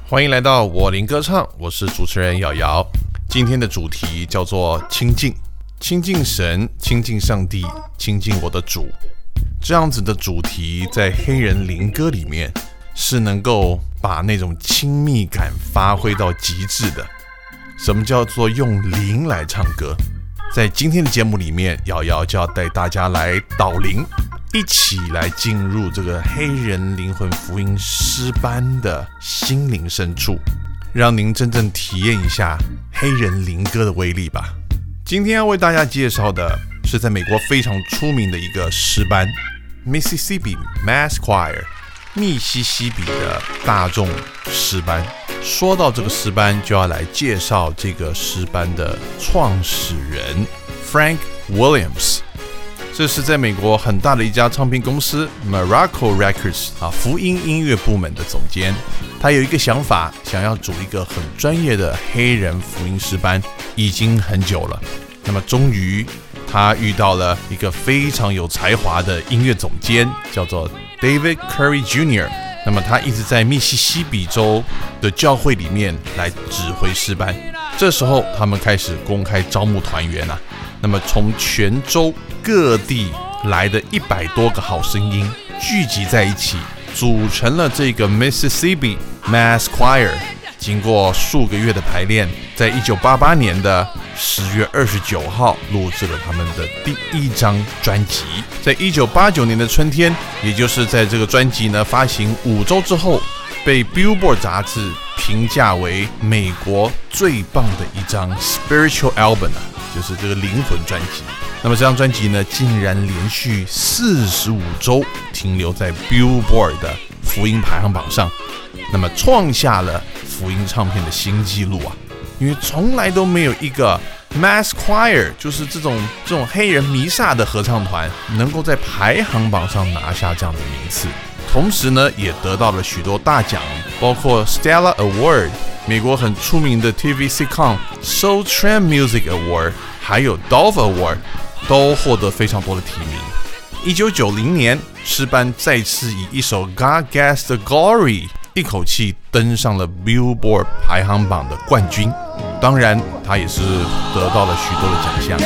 欢迎来到我林歌唱，我是主持人瑶瑶。今天的主题叫做亲近，亲近神，亲近上帝，亲近我的主。这样子的主题在黑人灵歌里面是能够把那种亲密感发挥到极致的。什么叫做用灵来唱歌？在今天的节目里面，瑶瑶就要带大家来导灵，一起来进入这个黑人灵魂福音诗班的心灵深处，让您真正体验一下黑人灵歌的威力吧。今天要为大家介绍的是在美国非常出名的一个诗班 Mississippi Mass Choir， 密西西比的大众诗班。说到这个诗班，就要来介绍这个诗班的创始人 Frank Williams。这是在美国很大的一家唱片公司 Miracle Records 福音音乐部门的总监。他有一个想法，想要组一个很专业的黑人福音诗班，已经很久了。那么终于他遇到了一个非常有才华的音乐总监，叫做 David Curry Jr.那么他一直在密西西比州的教会里面来指挥诗班。这时候他们开始公开招募团员啊。那么从全州各地来的100多个好声音聚集在一起，组成了这个 Mississippi Mass Choir。经过数个月的排练，在1988年的10月29号录制了他们的第一张专辑。在1989年的春天，也就是在这个专辑呢发行5周之后，被 Billboard 杂志评价为美国最棒的一张 Spiritual Album 就是这个灵魂专辑。那么这张专辑呢，竟然连续45周停留在 Billboard 的福音排行榜上，那么创下了福音唱片的新纪录啊！因为从来都没有一个 Mass Choir， 就是这种黑人弥撒的合唱团，能够在排行榜上拿下这样的名次。同时呢，也得到了许多大奖，包括 Stella Award、美国很出名的 TV sitcom Soul Train Music Award， 还有 Dove Award， 都获得非常多的提名。1990年，诗班再次以一首 God Gets the Glory一口气登上了 Billboard 排行榜的冠军，当然他也是得到了许多的奖项。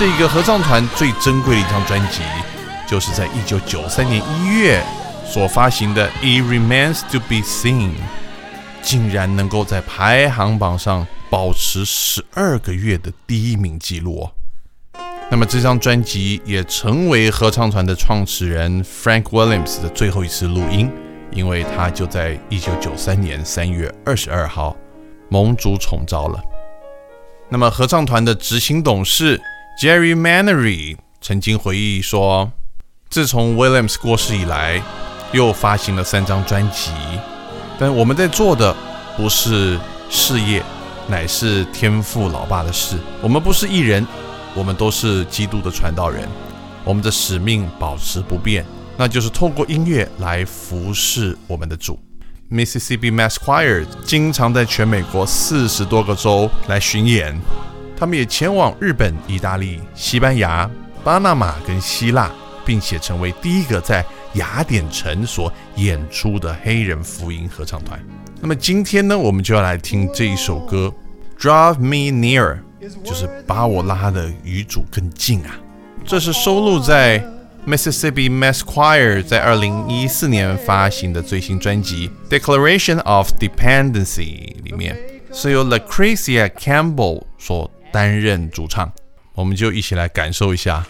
这个合唱团最珍贵的一张专辑，就是在1993年1月所发行的《It Remains to Be Seen》，竟然能够在排行榜上保持12个月的第1名纪录。那么这张专辑也成为合唱团的创始人 Frank Williams 的最后一次录音，因为他就在1993年3月22号蒙主宠召了。那么合唱团的执行董事 Jerry Mannery 曾经回忆说，自从 Williams 过世以来，又发行了3张专辑，但我们在做的不是事业，乃是天父老爸的事。我们不是艺人，我们都是基督的传道人，我们的使命保持不变，那就是透过音乐来服侍我们的主。Mississippi Mass Choir 经常在全美国40多个州来巡演，他们也前往日本、意大利、西班牙、巴拿马跟希腊，并且成为第一个在雅典城所演出的黑人福音合唱团。那么今天呢，我们就要来听这一首歌 Draw Me Near， 就是把我拉得与主更近啊。这是收录在 Mississippi Mass Choir 在2014年发行的最新专辑 Declaration of Dependency 里面，是由 Lucretia Campbell 所担任主唱。我们就一起来感受一下。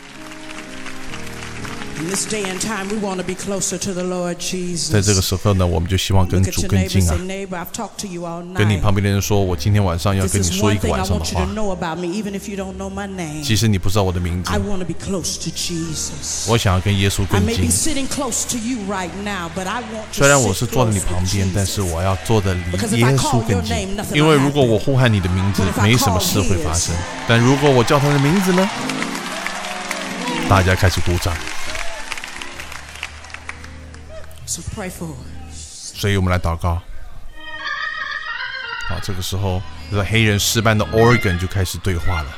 在这个时候呢，我们就希望跟主更近啊。跟你旁边的人说，我今天晚上要跟你说一个晚上的话。即使你不知道我的名字，我想要跟耶稣更近。虽然我是坐在你旁边，但是我要坐得离耶稣更近。因为如果我呼喊你的名字，没什么事会发生；但如果我叫他的名字呢，大家开始鼓掌。所以我们来祷告。好，这个时候这个黑人诗班的 organ 就开始对话了。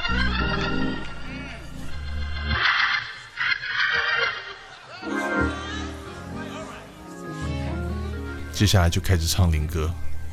接下来就开始唱灵歌。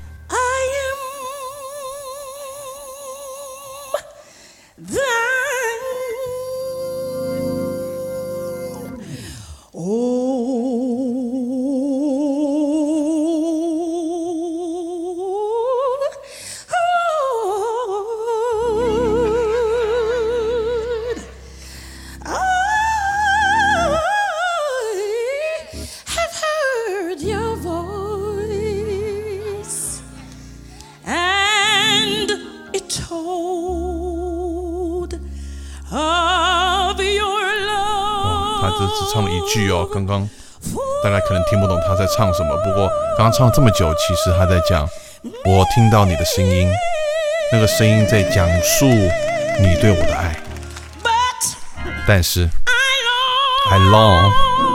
他只唱了一句哦，刚刚大家可能听不懂他在唱什么，不过刚刚唱了这么久，其实他在讲我听到你的声音，那个声音在讲述你对我的爱。但是 I long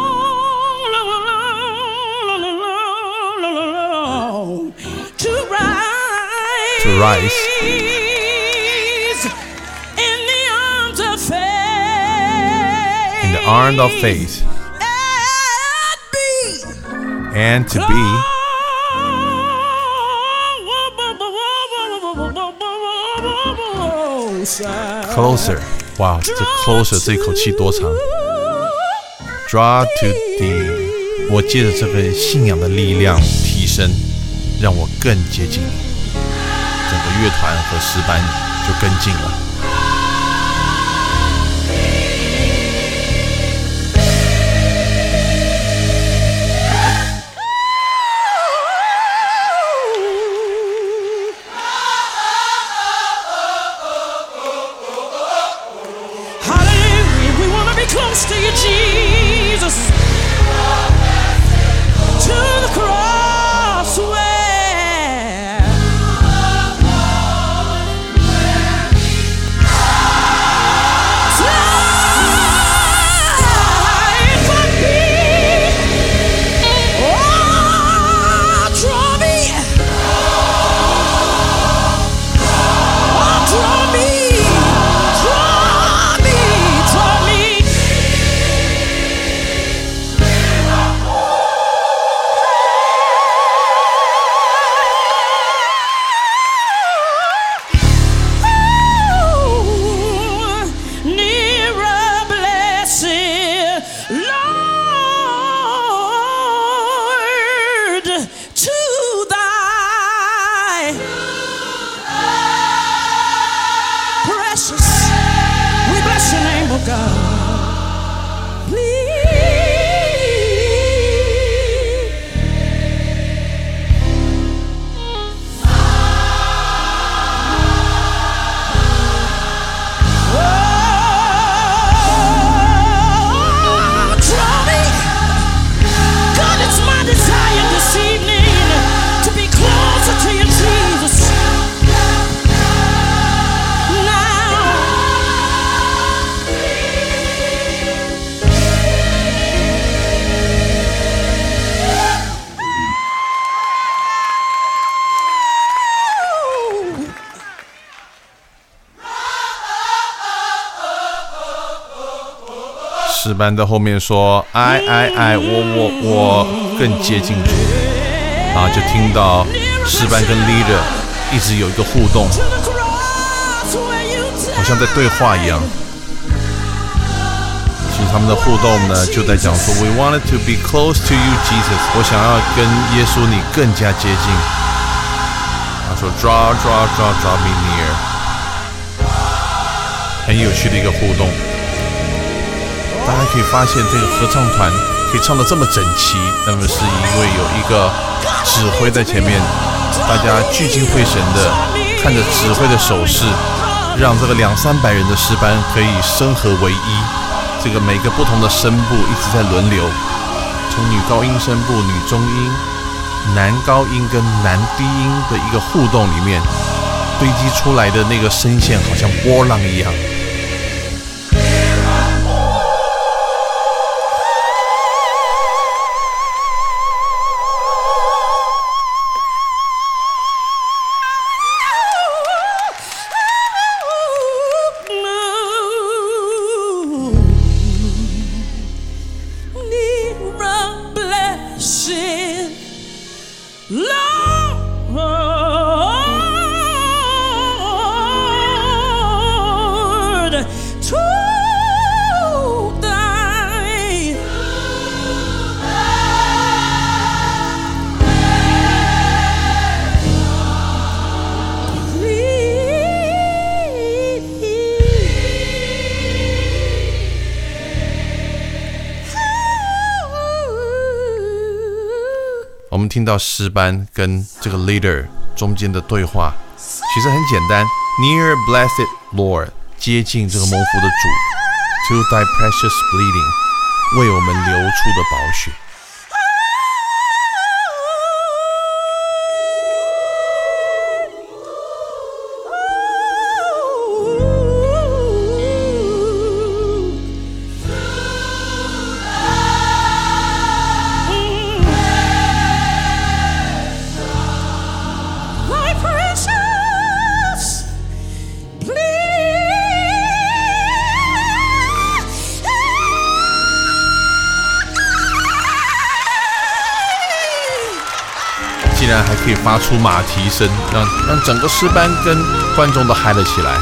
to rise in the arms of faith and to be closer。 哇，这 closer 这口气多长。 Draw to thee， 我借着这个信仰的力量提升，让我更接近你，整个乐团和诗班就更近了。 Close to you, Jesus, to the cross where 诗班在后面说I我更接近主，然后就听到诗班跟 leader 一直有一个互动，好像在对话一样。其实他们的互动呢，就在讲说 We wanted to be close to you, Jesus。 我想要跟耶稣你更加接近。他说 Draw me near。 很有趣的一个互动。大家可以发现这个合唱团可以唱得这么整齐，那么是因为有一个指挥在前面，大家聚精会神的看着指挥的手势，让这个200-300人的诗班可以声合为一。这个每个不同的声部一直在轮流，从女高音声部、女中音、男高音跟男低音的一个互动里面，堆积出来的那个声线好像波浪一样。我们听到诗班跟这个 leader 中间的对话，其实很简单 Near blessed Lord， 接近这个蒙福的主， To thy precious bleeding， 为我们流出的宝血。竟然还可以发出马蹄声，让整个诗班跟观众都嗨了起来。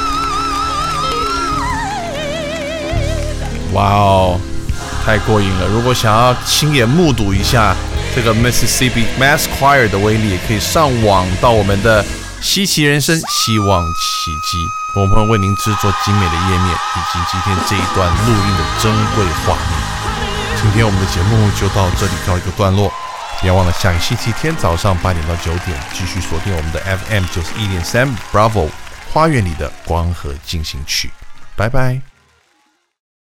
哇哦，太过瘾了！如果想要亲眼目睹一下这个 Mississippi Mass Choir 的威力，也可以上网到我们的稀奇人生希望奇迹，我们会为您制作精美的页面，以及今天这一段录音的珍贵画面。今天我们的节目就到这里告一个段落。别忘了下个星期天早上8点到9点，继续锁定我们的 FM 91.3 Bravo 花园里的光和进行曲。拜拜。